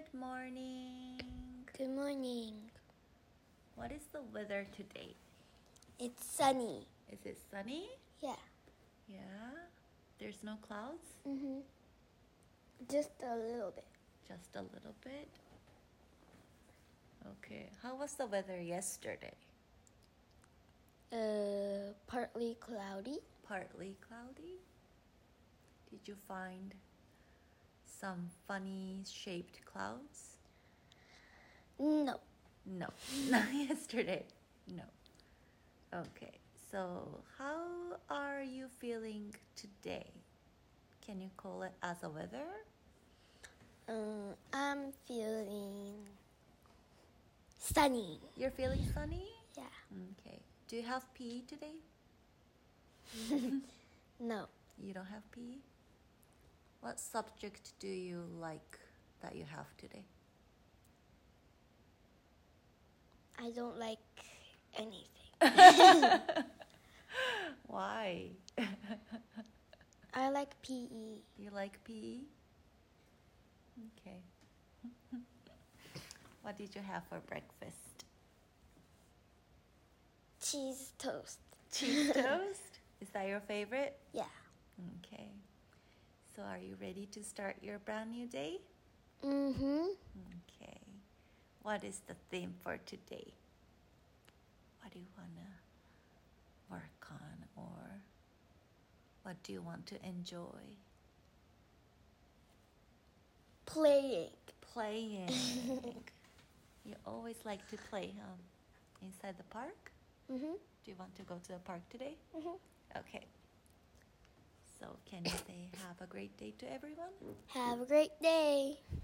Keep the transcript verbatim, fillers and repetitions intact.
Good morning. Good morning. What is the weather today? It's sunny. Is it sunny? Yeah. Yeah. There's no clouds? Mhm. Just a little bit. Just a little bit? Okay. How was the weather yesterday? Uh, partly cloudy. Partly cloudy? Did you find some funny shaped clouds? No. No. Not yesterday. No. Okay. So how are you feeling today? Can you call it as a weather? Um, I'm feeling sunny. You're feeling sunny? Yeah. Okay. Do you have P E today? No. You don't have P E? What subject do you like that you have today? I don't like anything. Why? I like P E. You like P E? Okay. What did you have for breakfast? Cheese toast. Cheese toast? Is that your favorite? Yeah. Okay. So are you ready to start your brand new day? Mm-hmm. Okay. What is the theme for today? What do you want to work on, or what do you want to enjoy? Playing. Playing. You always like to play, huh? Inside the park? Mm-hmm. Do you want to go to the park today? Mm-hmm. Okay. So can you say have a great day to everyone? Have a great day.